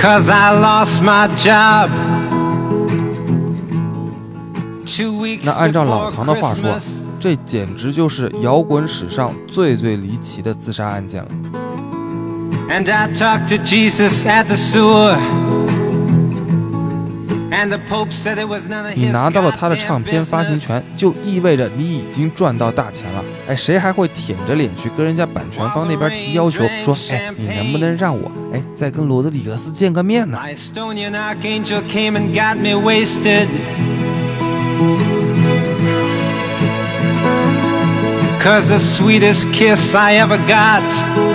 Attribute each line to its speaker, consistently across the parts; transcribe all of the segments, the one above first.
Speaker 1: 'Cause I lost my job.
Speaker 2: 那按照老唐的话说，这简直就是摇滚史上最离奇的自杀案件了。
Speaker 1: And I talked to Jesus at the sewer.
Speaker 2: 你拿到了他的唱片发行权，就意味着你已经赚到大钱了。谁还会舔着脸去跟人家版权方那边提要求，说你能不能让我再跟罗德里格斯见个面呢
Speaker 1: ？'Cause the sweetest kiss I ever got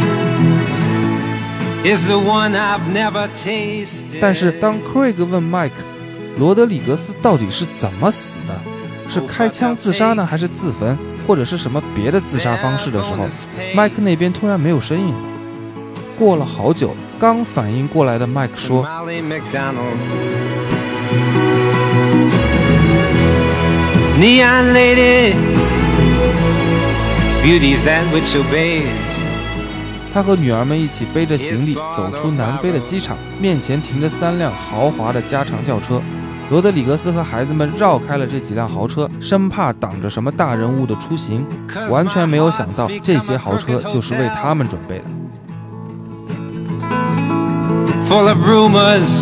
Speaker 1: is the one I've never tasted.
Speaker 2: 但是当 Craig 问 Mike 罗德里格斯到底是怎么死的，是开枪自杀呢，还是自焚，或者是什么别的自杀方式的时候， Mike 那边突然没有声音了。过了好久，刚反应过来的 Mike 说，
Speaker 1: Neon lady, beauty's that which obeys.
Speaker 2: 他和女儿们一起背着行李走出南非的机场，面前停着3辆豪华的加长轿车。罗德里格斯和孩子们绕开了这几辆豪车，生怕挡着什么大人物的出行，完全没有想到这些豪车就是为他们准备的。
Speaker 1: Full of rumors,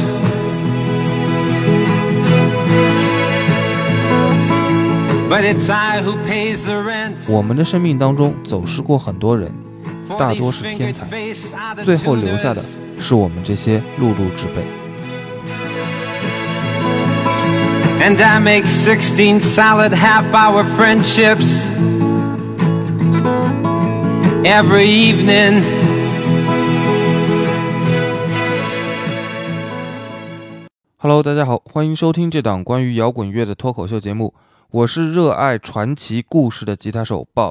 Speaker 1: but it's I who pays the rent.
Speaker 2: 我们的生命当中走失过很多人，大多是天才，最后留下的是我们这些碌碌之辈。
Speaker 1: And I make 16 solid half-hour friendships every evening.
Speaker 2: Hello， 大家好，欢迎收听这档关于摇滚乐的脱口秀节目，我是热爱传奇故事的吉他手 Bob。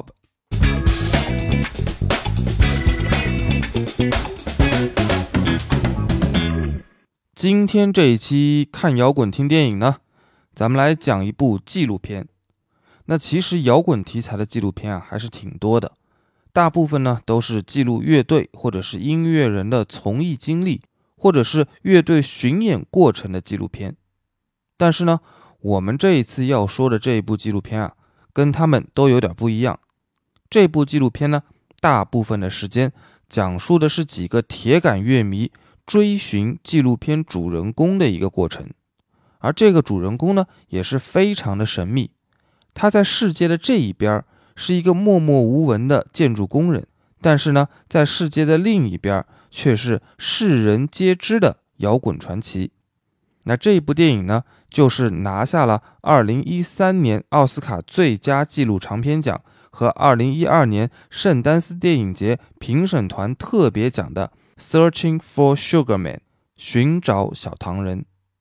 Speaker 2: 今天这一期看摇滚听电影呢，咱们来讲一部纪录片。那其实摇滚题材的纪录片还是挺多的，大部分呢都是记录乐队或者是音乐人的从艺经历，或者是乐队巡演过程的纪录片。但是呢，我们这一次要说的这一部纪录片跟他们都有点不一样。这部纪录片呢，大部分的时间讲述的是几个铁杆乐迷追寻纪录片主人公的一个过程，而这个主人公呢，也是非常的神秘。他在世界的这一边是一个默默无闻的建筑工人，但是呢，在世界的另一边却是世人皆知的摇滚传奇。那这一部电影呢，就是拿下了2013年奥斯卡最佳纪录长片奖和2012年圣丹斯电影节评审团特别奖的 Searching for Sugar Man 寻找小糖人。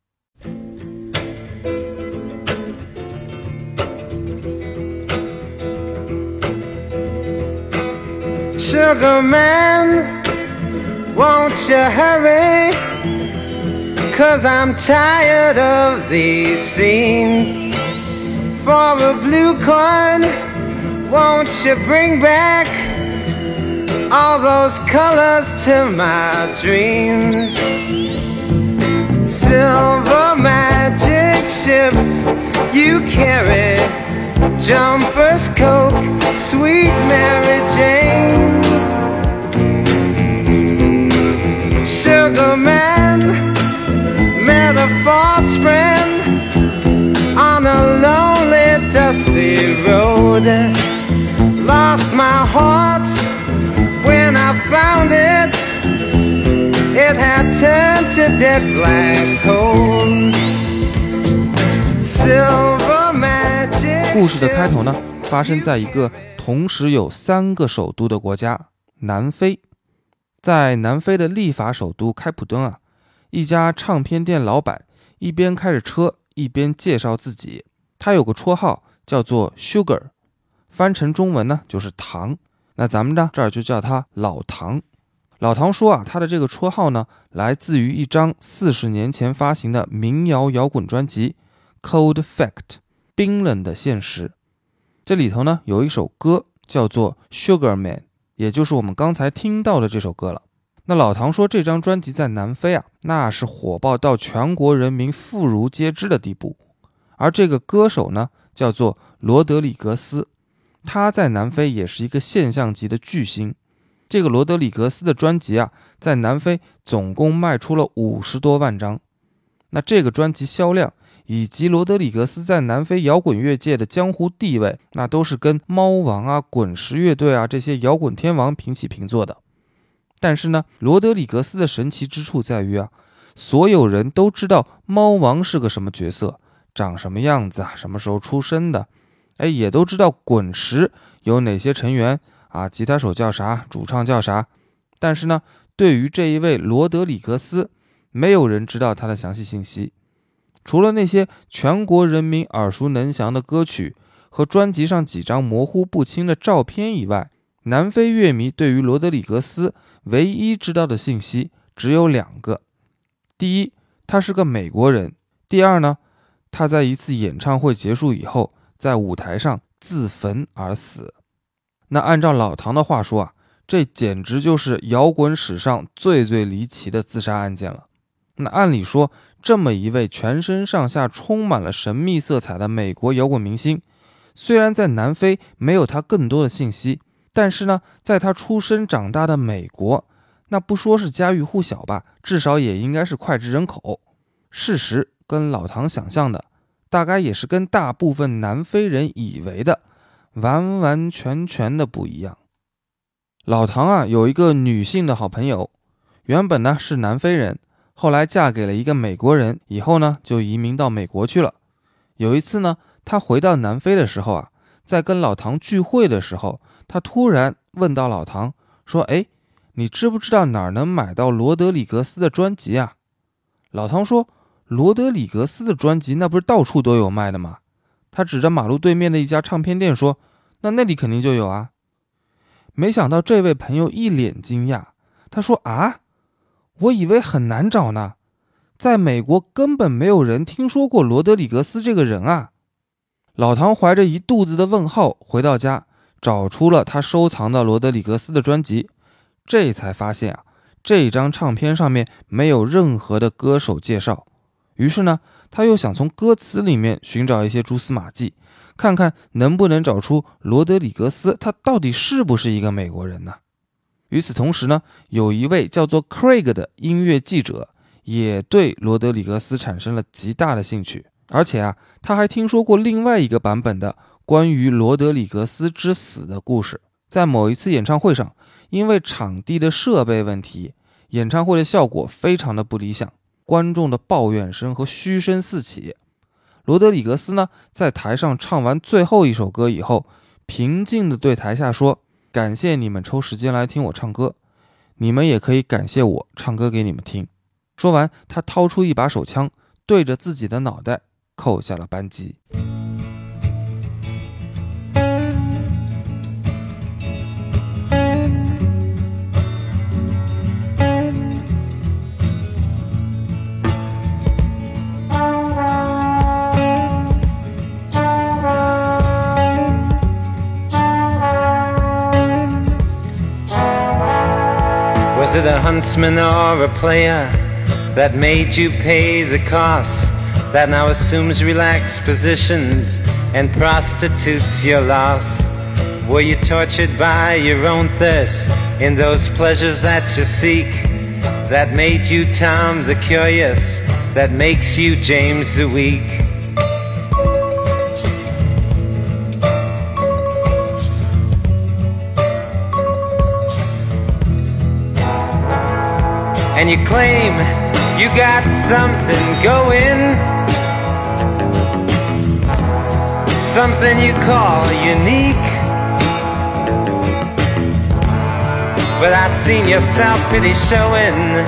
Speaker 1: Sugar man, won't you hurry? 'Cause I'm tired of these scenes. For a blue coin, won't you bring back all those colors to my dreams? Silver magic ships you carry, Jumpers, Coke, sweet Mary Jane. Sugar man met a false friend on a lonely dusty road. Lost my heart when I found it. It had turned to dead black coal. Silver magic.
Speaker 2: 故事的开头呢，发生在一个同时有3个首都的国家南非。在南非的立法首都开普敦一家唱片店老板一边开着车一边介绍自己。他有个绰号叫做 Sugar， 翻成中文呢就是糖。那咱们呢这儿就叫他老唐。老唐说他的这个绰号呢，来自于一张40年前发行的民谣摇滚专辑 Cold Fact 冰冷的现实。这里头呢有一首歌叫做 Sugar Man， 也就是我们刚才听到的这首歌了。 那老唐说这张专辑在南非那是火爆到全国人民妇孺皆知的地步。而这个歌手呢，叫做罗德里格斯，他在南非也是一个现象级的巨星。这个罗德里格斯的专辑在南非总共卖出了50多万张。那这个专辑销量以及罗德里格斯在南非摇滚乐界的江湖地位，那都是跟猫王滚石乐队这些摇滚天王平起平坐的。但是呢，罗德里格斯的神奇之处在于所有人都知道猫王是个什么角色，长什么样子什么时候出生的，也都知道滚石有哪些成员吉他手叫啥，主唱叫啥。但是呢，对于这一位罗德里格斯，没有人知道他的详细信息。除了那些全国人民耳熟能详的歌曲和专辑上几张模糊不清的照片以外，南非乐迷对于罗德里格斯唯一知道的信息只有2个。第一，他是个美国人；第二呢，他在一次演唱会结束以后，在舞台上自焚而死。那按照老唐的话说这简直就是摇滚史上最离奇的自杀案件了。那按理说，这么一位全身上下充满了神秘色彩的美国摇滚明星，虽然在南非没有他更多的信息，但是呢，在他出生长大的美国，那不说是家喻户晓吧，至少也应该是脍炙人口。事实跟老唐想象的，大概也是跟大部分南非人以为的完完全全的不一样。老唐有一个女性的好朋友，原本呢是南非人，后来嫁给了一个美国人，以后呢就移民到美国去了。有一次呢，她回到南非的时候在跟老唐聚会的时候，她突然问到老唐说，你知不知道哪儿能买到罗德里格斯的专辑老唐说，罗德里格斯的专辑那不是到处都有卖的吗？他指着马路对面的一家唱片店说，那里肯定就有没想到这位朋友一脸惊讶，他说我以为很难找呢，在美国根本没有人听说过罗德里格斯这个人老唐怀着一肚子的问号回到家，找出了他收藏的罗德里格斯的专辑，这才发现这张唱片上面没有任何的歌手介绍。于是呢，他又想从歌词里面寻找一些蛛丝马迹，看看能不能找出罗德里格斯他到底是不是一个美国人呢？与此同时呢，有一位叫做 Craig 的音乐记者也对罗德里格斯产生了极大的兴趣，而且他还听说过另外一个版本的关于罗德里格斯之死的故事。在某一次演唱会上，因为场地的设备问题，演唱会的效果非常的不理想，观众的抱怨声和嘘声四起。罗德里格斯呢，在台上唱完最后一首歌以后，平静地对台下说，感谢你们抽时间来听我唱歌，你们也可以感谢我唱歌给你们听。说完，他掏出一把手枪，对着自己的脑袋扣下了扳机。
Speaker 1: Was it a huntsman or a player that made you pay the cost, that now assumes relaxed positions and prostitutes your loss? Were you tortured by your own thirst in those pleasures that you seek, that made you Tom the Curious, that makes you James the Weak? And you claim you got something going, something you call unique, but I seen your self-pity showing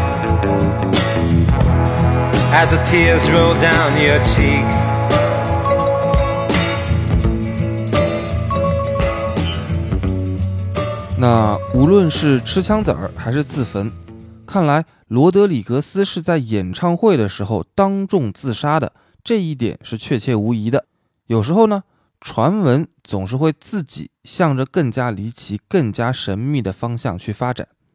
Speaker 1: as the tears roll down your cheeks.
Speaker 2: 那无论是吃枪子儿还是自焚，看来罗德里格斯是在演唱会的时候当众自杀的，这一点是确切无疑的。有时候呢，传闻总是会自己向着更加离奇、更加神秘的方向去发展，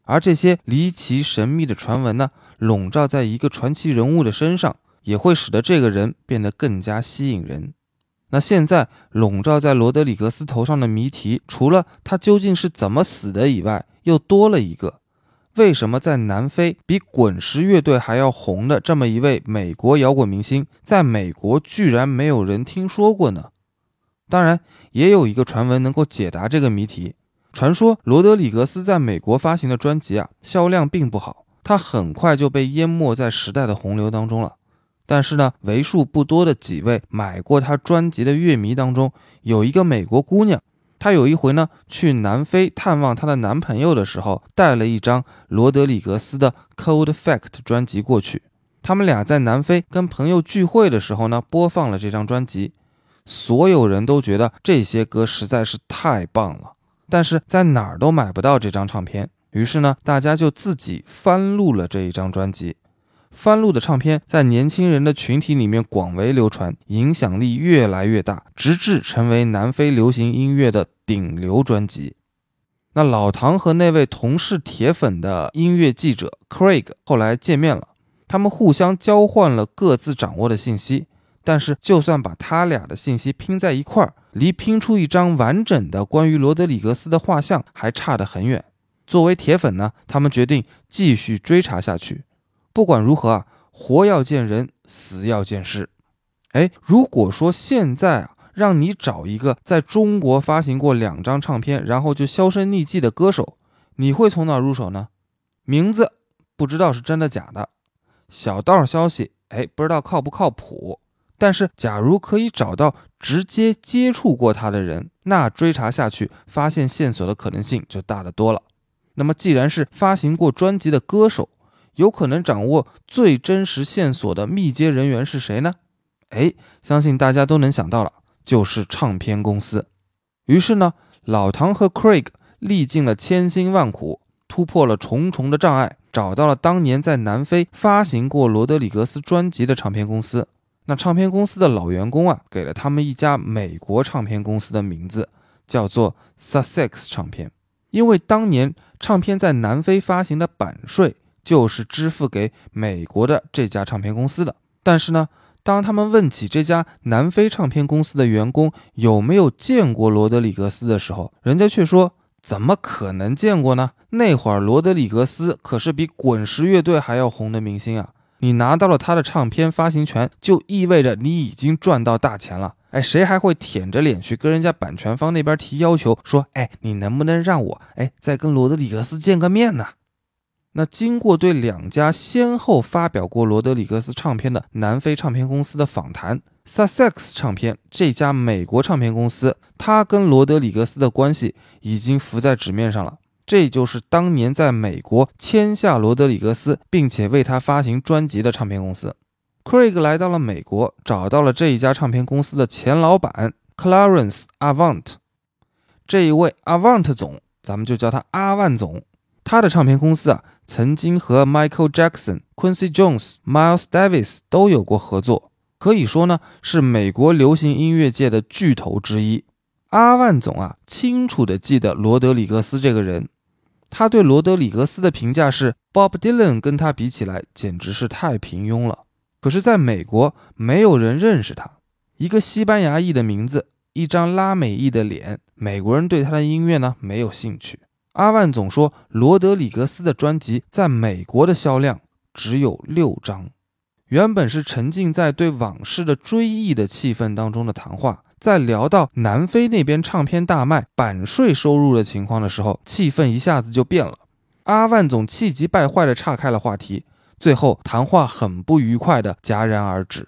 Speaker 2: 而这些离奇神秘的传闻呢，笼罩在一个传奇人物的身上，也会使得这个人变得更加吸引人。那现在笼罩在罗德里格斯头上的谜题，除了他究竟是怎么死的以外，又多了一个：为什么在南非比滚石乐队还要红的这么一位美国摇滚明星，在美国居然没有人听说过呢？当然，也有一个传闻能够解答这个谜题。传说罗德里格斯在美国发行的专辑销量并不好，他很快就被淹没在时代的洪流当中了。但是呢，为数不多的几位买过他专辑的乐迷当中，有一个美国姑娘，她有一回呢去南非探望她的男朋友的时候，带了一张罗德里格斯的 Cold Fact 专辑过去。他们俩在南非跟朋友聚会的时候呢，播放了这张专辑。所有人都觉得这些歌实在是太棒了，但是在哪儿都买不到这张唱片。于是呢，大家就自己翻录了这一张专辑。翻录的唱片在年轻人的群体里面广为流传，影响力越来越大，直至成为南非流行音乐的顶流专辑。那老唐和那位同是铁粉的音乐记者 Craig 后来见面了，他们互相交换了各自掌握的信息，但是就算把他俩的信息拼在一块儿，离拼出一张完整的关于罗德里格斯的画像还差得很远。作为铁粉呢，他们决定继续追查下去。不管如何活要见人，死要见尸。如果说现在让你找一个在中国发行过2张唱片然后就销声匿迹的歌手，你会从哪入手呢？名字不知道是真的假的，小道消息不知道靠不靠谱。但是假如可以找到直接接触过他的人，那追查下去发现线索的可能性就大得多了。那么既然是发行过专辑的歌手，有可能掌握最真实线索的密接人员是谁呢？相信大家都能想到了，就是唱片公司。于是呢，老唐和 Craig 历尽了千辛万苦，突破了重重的障碍，找到了当年在南非发行过罗德里格斯专辑的唱片公司。那唱片公司的老员工给了他们一家美国唱片公司的名字，叫做 Sussex 唱片。因为当年唱片在南非发行的版税就是支付给美国的这家唱片公司的。但是呢，当他们问起这家南非唱片公司的员工有没有见过罗德里格斯的时候，人家却说怎么可能见过呢？那会儿罗德里格斯可是比滚石乐队还要红的明星你拿到了他的唱片发行权，就意味着你已经赚到大钱了。谁还会舔着脸去跟人家版权方那边提要求说你能不能让我再跟罗德里格斯见个面呢？那经过对2家先后发表过罗德里格斯唱片的南非唱片公司的访谈， Sussex 唱片这家美国唱片公司，它跟罗德里格斯的关系已经浮在纸面上了。这就是当年在美国签下罗德里格斯并且为他发行专辑的唱片公司。 Craig 来到了美国，找到了这一家唱片公司的前老板 Clarence Avant。 这一位 Avant 总，咱们就叫他阿万总。他的唱片公司曾经和 Michael Jackson、Quincy Jones、Miles Davis 都有过合作，可以说呢是美国流行音乐界的巨头之一。阿万总清楚地记得罗德里格斯这个人，他对罗德里格斯的评价是 Bob Dylan 跟他比起来简直是太平庸了。可是在美国没有人认识他，一个西班牙裔的名字，一张拉美裔的脸，美国人对他的音乐呢没有兴趣。阿万总说，罗德里格斯的专辑在美国的销量只有6张。原本是沉浸在对往事的追忆的气氛当中的谈话，在聊到南非那边唱片大卖、版税收入的情况的时候，气氛一下子就变了。阿万总气急败坏地岔开了话题，最后谈话很不愉快地戛然而止。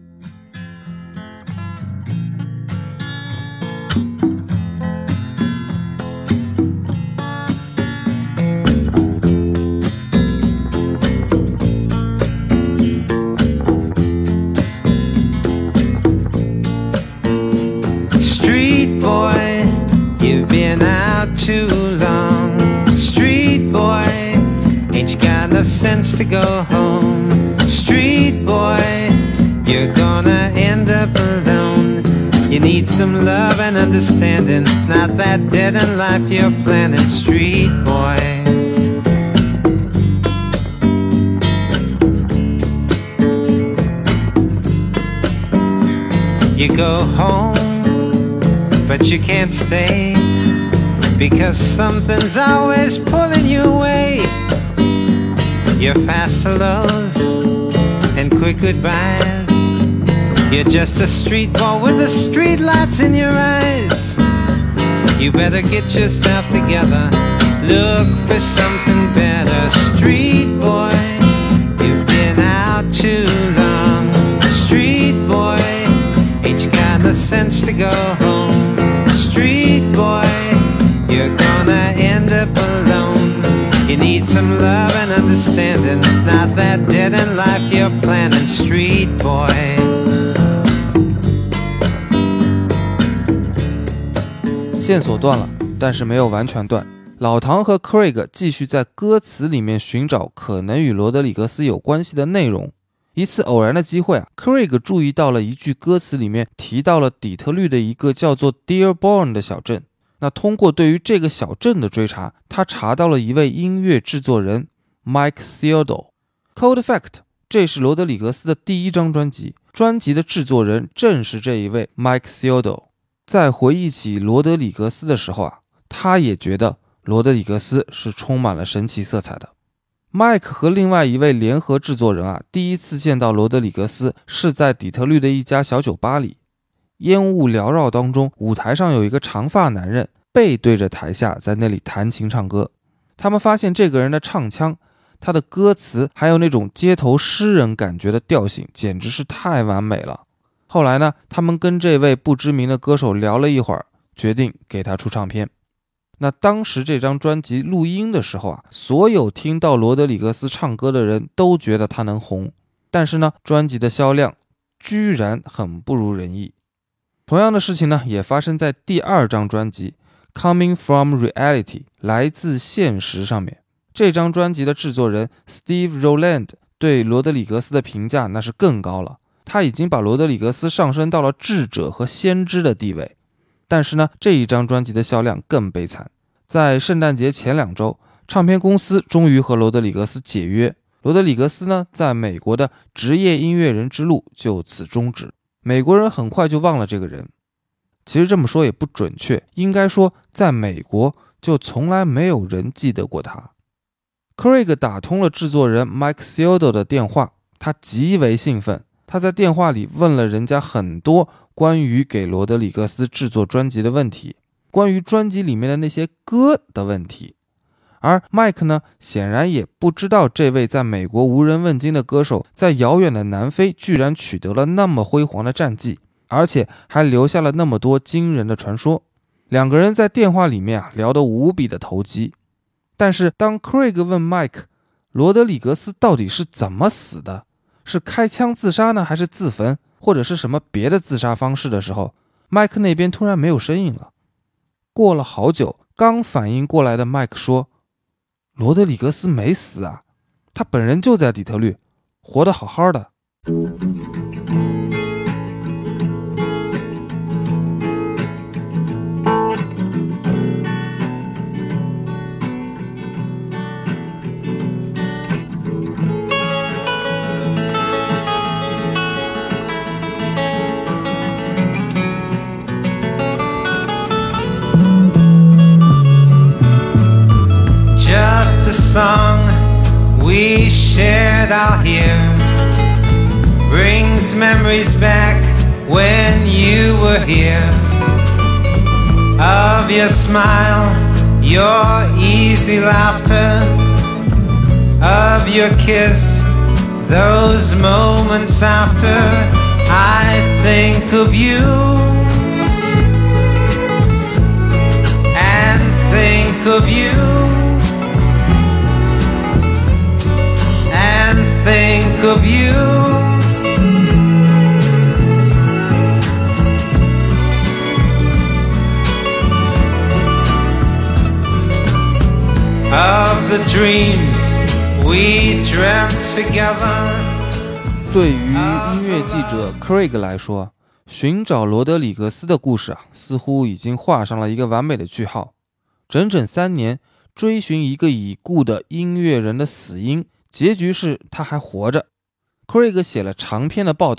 Speaker 1: Too long, street boy, ain't you got enough sense to go home? Street boy, you're gonna end up alone. You need some love and understanding, not that dead in life you're planning. Street boy, You go home, but you can't stay, because something's always pulling you away. Your fast hellos and quick goodbyes. You're just a street boy with the street lights in your eyes. You better get yourself together, look for something better. Street boy, you've been out too long. Street boy, ain't you got the sense to go home? Street boy, you're gonna end up alone. You need some love and understanding, not that dead end life you're planning. Street boy.
Speaker 2: 线索断了，但是没有完全断。老唐和 Craig 继续在歌词里面寻找可能与罗德里格斯有关系的内容。一次偶然的机会Craig 注意到了一句歌词里面提到了底特律的一个叫做 Dearborn 的小镇。那通过对于这个小镇的追查，他查到了一位音乐制作人 Mike Theodore。Cold Fact， 这是罗德里格斯的第一张专辑，专辑的制作人正是这一位 Mike Theodore。在回忆起罗德里格斯的时候他也觉得罗德里格斯是充满了神奇色彩的。麦克和另外一位联合制作人第一次见到罗德里格斯是在底特律的一家小酒吧里。烟雾缭绕当中，舞台上有一个长发男人背对着台下在那里弹琴唱歌。他们发现这个人的唱腔，他的歌词还有那种街头诗人感觉的调性简直是太完美了。后来呢，他们跟这位不知名的歌手聊了一会儿，决定给他出唱片。那当时这张专辑录音的时候所有听到罗德里格斯唱歌的人都觉得他能红，但是呢，专辑的销量居然很不如人意。同样的事情呢，也发生在第二张专辑 Coming from Reality 来自现实上面。这张专辑的制作人 Steve Rowland 对罗德里格斯的评价那是更高了，他已经把罗德里格斯上升到了智者和先知的地位。但是呢，这一张专辑的销量更悲惨。在圣诞节前2周，唱片公司终于和罗德里格斯解约。罗德里格斯呢，在美国的职业音乐人之路就此终止。美国人很快就忘了这个人。其实这么说也不准确，应该说在美国就从来没有人记得过他。Craig 打通了制作人 Mike Theodore 的电话，他极为兴奋。他在电话里问了人家很多关于给罗德里格斯制作专辑的问题，关于专辑里面的那些歌的问题。而 Mike 呢，显然也不知道这位在美国无人问津的歌手在遥远的南非居然取得了那么辉煌的战绩，而且还留下了那么多惊人的传说。两个人在电话里面聊得无比的投机。但是当 Craig 问 Mike 罗德里格斯到底是怎么死的，是开枪自杀呢，还是自焚，或者是什么别的自杀方式的时候，麦克那边突然没有声音了。过了好久，刚反应过来的麦克说，罗德里格斯没死他本人就在底特律，活得好好的。
Speaker 1: A song we shared out here brings memories back when you were here, of your smile, your easy laughter, of your kiss, those moments after. I think of you and think of you.Think of you. Of the dreams we dreamt together.
Speaker 2: 对于音乐记者 Craig 来说，寻找罗德里格斯的故事似乎已经画上了一个完美的句号。整整3年追寻一个已故的音乐人的死因，结局是他还活着。Craig 写了长篇的报道，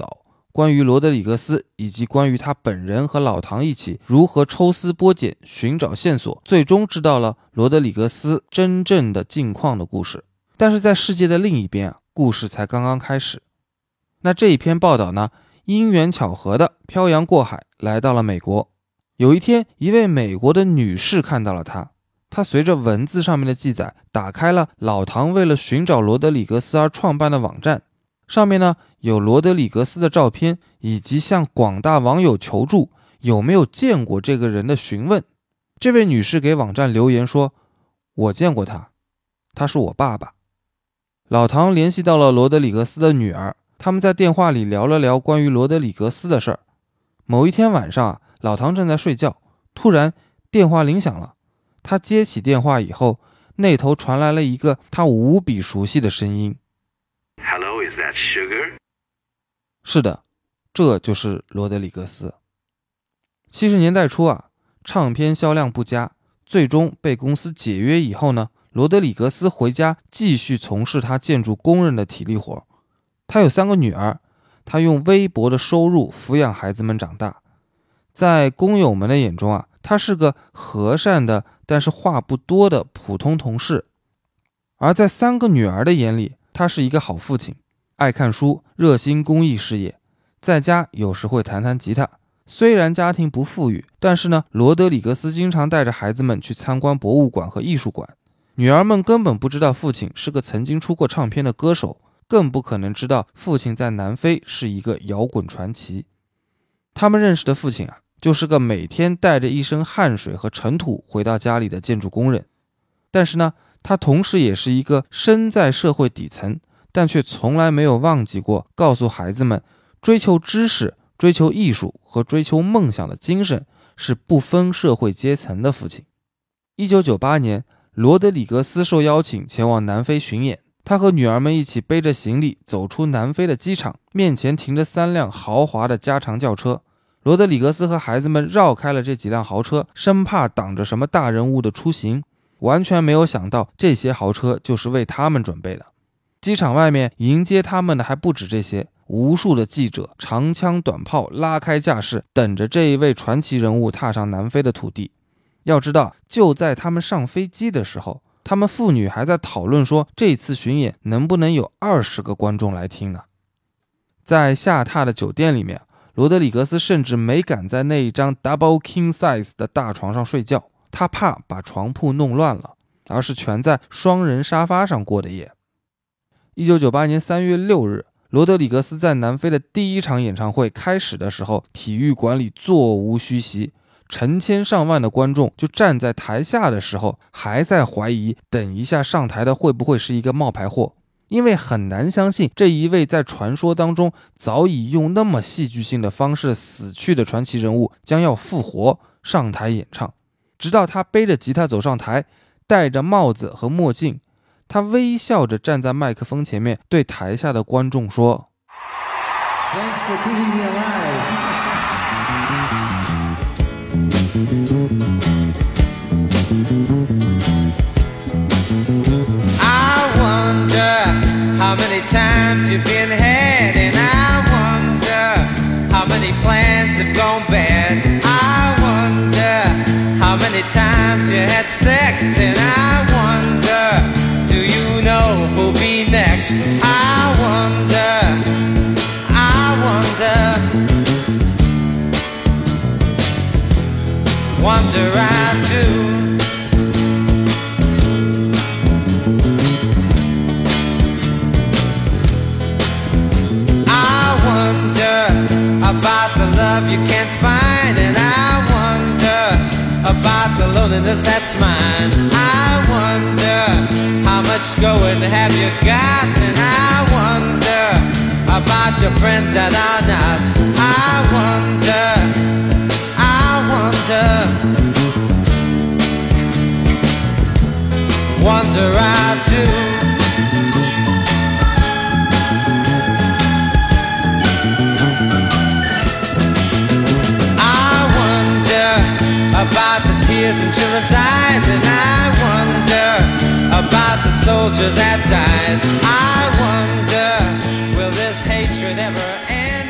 Speaker 2: 关于罗德里格斯以及关于他本人和老唐一起如何抽丝剥茧寻找线索，最终知道了罗德里格斯真正的境况的故事。但是在世界的另一边故事才刚刚开始。那这一篇报道呢，因缘巧合的漂洋过海来到了美国。有一天，一位美国的女士看到了他，她随着文字上面的记载，打开了老唐为了寻找罗德里格斯而创办的网站。上面呢有罗德里格斯的照片，以及向广大网友求助有没有见过这个人的询问。这位女士给网站留言说，我见过他，他是我爸爸。老唐联系到了罗德里格斯的女儿，他们在电话里聊了聊关于罗德里格斯的事儿。某一天晚上老唐正在睡觉，突然电话铃响了。他接起电话以后，那头传来了一个他无比熟悉的声音。
Speaker 3: Hello, is that Sugar?
Speaker 2: 是的，这就是罗德里格斯。70年代初唱片销量不佳，最终被公司解约以后呢，罗德里格斯回家继续从事他建筑工人的体力活。他有3个女儿，他用微薄的收入抚养孩子们长大。在工友们的眼中他是个和善的但是话不多的普通同事。而在3个女儿的眼里，他是一个好父亲，爱看书，热心公益事业，在家有时会弹弹吉他。虽然家庭不富裕，但是呢，罗德里格斯经常带着孩子们去参观博物馆和艺术馆。女儿们根本不知道父亲是个曾经出过唱片的歌手，更不可能知道父亲在南非是一个摇滚传奇。他们认识的父亲就是个每天带着一身汗水和尘土回到家里的建筑工人。但是呢，他同时也是一个身在社会底层，但却从来没有忘记过告诉孩子们，追求知识、追求艺术和追求梦想的精神是不分社会阶层的父亲。1998年，罗德里格斯受邀请前往南非巡演，他和女儿们一起背着行李走出南非的机场，面前停着3辆豪华的加长轿车。罗德里格斯和孩子们绕开了这几辆豪车，生怕挡着什么大人物的出行，完全没有想到这些豪车就是为他们准备的。机场外面迎接他们的还不止这些，无数的记者长枪短炮拉开架势，等着这一位传奇人物踏上南非的土地。要知道，就在他们上飞机的时候，他们父女还在讨论说，这次巡演能不能有20个观众来听呢？在下榻的酒店里面，罗德里格斯甚至没敢在那一张 double king size 的大床上睡觉，他怕把床铺弄乱了，而是全在双人沙发上过的夜。1998年3月6日，罗德里格斯在南非的第一场演唱会开始的时候，体育馆里座无虚席，成千上万的观众就站在台下的时候，还在怀疑等一下上台的会不会是一个冒牌货，因为很难相信这一位在传说当中早已用那么戏剧性的方式死去的传奇人物将要复活上台演唱。直到他背着吉他走上台，戴着帽子和墨镜，他微笑着站在麦克风前面，对台下的观众说
Speaker 4: Thanks for keeping me alive.
Speaker 1: I wonder how many times you've been had, and I wonder how many plans have gone bad. I wonder how many times you had sex, and I wonder, do you know who'll be next? I wonder, wonder I do. About the love you can't find, and I wonder about the loneliness that's mine. I wonder how much going have you got, and I wonder about your friends that are not. I wonder I do. About the tears in children's eyes, and I wonder about the soldier that dies. I wonder, will this hatred ever end?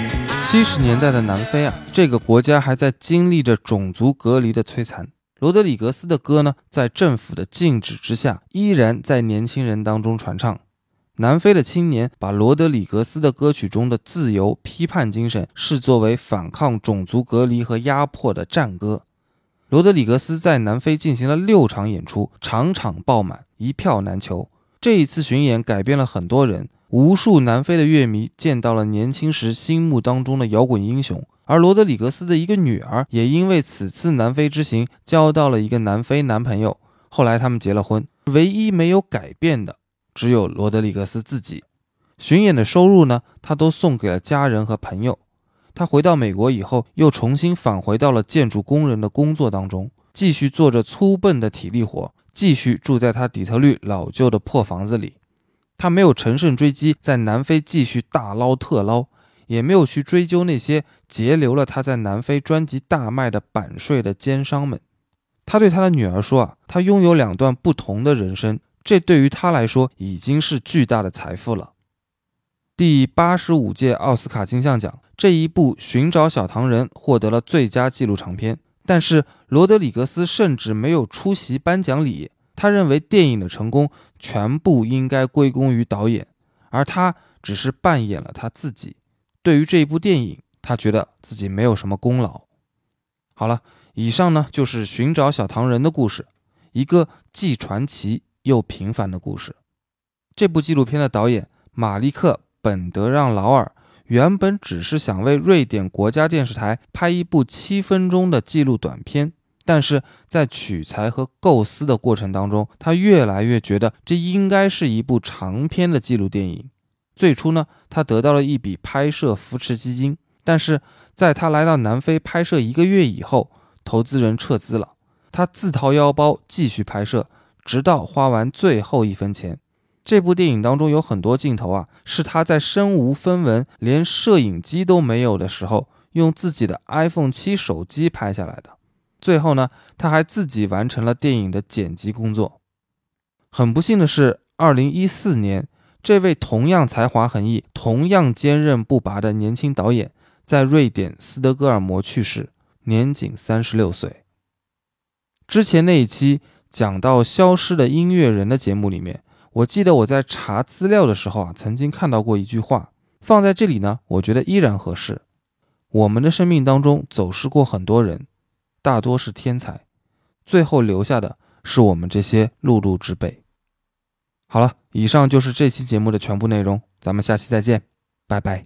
Speaker 2: 70年代的南非啊，这个国家还在经历着种族隔离的摧残。罗德里格斯的歌呢，在政府的禁止之下，依然在年轻人当中传唱。南非的青年把罗德里格斯的歌曲中的自由批判精神视作为反抗种族隔离和压迫的战歌。罗德里格斯在南非进行了6场演出，场场爆满，一票难求。这一次巡演改变了很多人，无数南非的乐迷见到了年轻时心目当中的摇滚英雄，而罗德里格斯的一个女儿也因为此次南非之行交到了一个南非男朋友，后来他们结了婚。唯一没有改变的只有罗德里格斯自己。巡演的收入呢，他都送给了家人和朋友。他回到美国以后，又重新返回到了建筑工人的工作当中，继续做着粗笨的体力活，继续住在他底特律老旧的破房子里。他没有乘胜追击，在南非继续大捞特捞，也没有去追究那些截留了他在南非专辑大卖的版税的奸商们。他对他的女儿说他拥有2段不同的人生，这对于他来说已经是巨大的财富了。第85届奥斯卡金像奖，这一部《寻找小糖人》获得了最佳纪录长片，但是罗德里格斯甚至没有出席颁奖礼。他认为电影的成功全部应该归功于导演，而他只是扮演了他自己。对于这一部电影，他觉得自己没有什么功劳。好了，以上呢就是《寻找小糖人》的故事，一个既传奇又平凡的故事。这部纪录片的导演马利克·本德让劳尔原本只是想为瑞典国家电视台拍一部7分钟的纪录短片，但是在取材和构思的过程当中，他越来越觉得这应该是一部长篇的纪录电影。最初呢，他得到了一笔拍摄扶持基金，但是在他来到南非拍摄1个月以后，投资人撤资了，他自掏腰包继续拍摄，直到花完最后1分钱。这部电影当中有很多镜头是他在身无分文，连摄影机都没有的时候，用自己的 iPhone 7手机拍下来的。最后呢，他还自己完成了电影的剪辑工作。很不幸的是，2014年，这位同样才华横溢、同样坚韧不拔的年轻导演，在瑞典斯德哥尔摩去世，年仅36岁。之前那一期讲到消失的音乐人的节目里面，我记得我在查资料的时候曾经看到过一句话，放在这里呢，我觉得依然合适。我们的生命当中走失过很多人，大多是天才，最后留下的是我们这些碌碌之辈。好了，以上就是这期节目的全部内容，咱们下期再见，拜拜。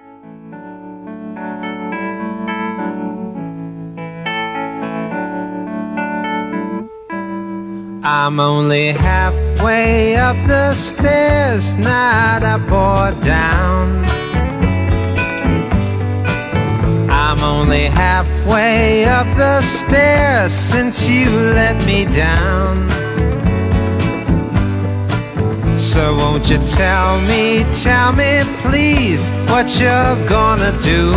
Speaker 1: I'm only halfway up the stairs, not up or down. I'm only halfway up the stairs since you let me down. So won't you tell me please what you're gonna do?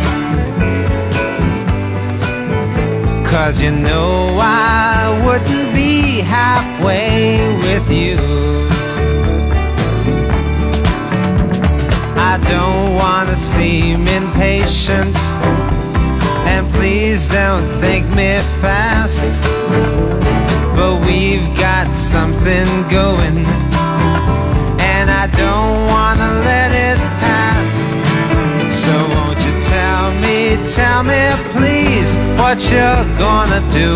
Speaker 1: 'Cause you know I wouldn't be halfway with you. I don't wanna seem impatient, and please don't think me fast, but we've got something going, and I don't wanna let it pass. So won't you tell me please what you're gonna do?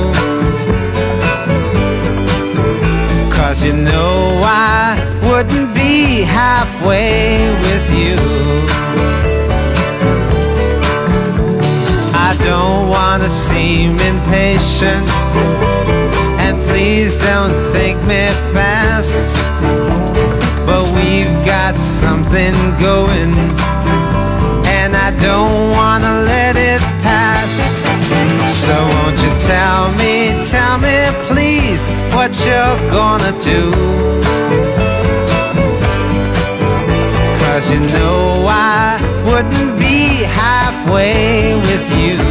Speaker 1: 'Cause you know I wouldn't be halfway with you. I don't wanna seem impatient, and please don't think me fast, but we've got something going, and I don't wanna let it pass. So won't you tell me please what you're gonna do? 'Cause you know I wouldn't be halfway with you.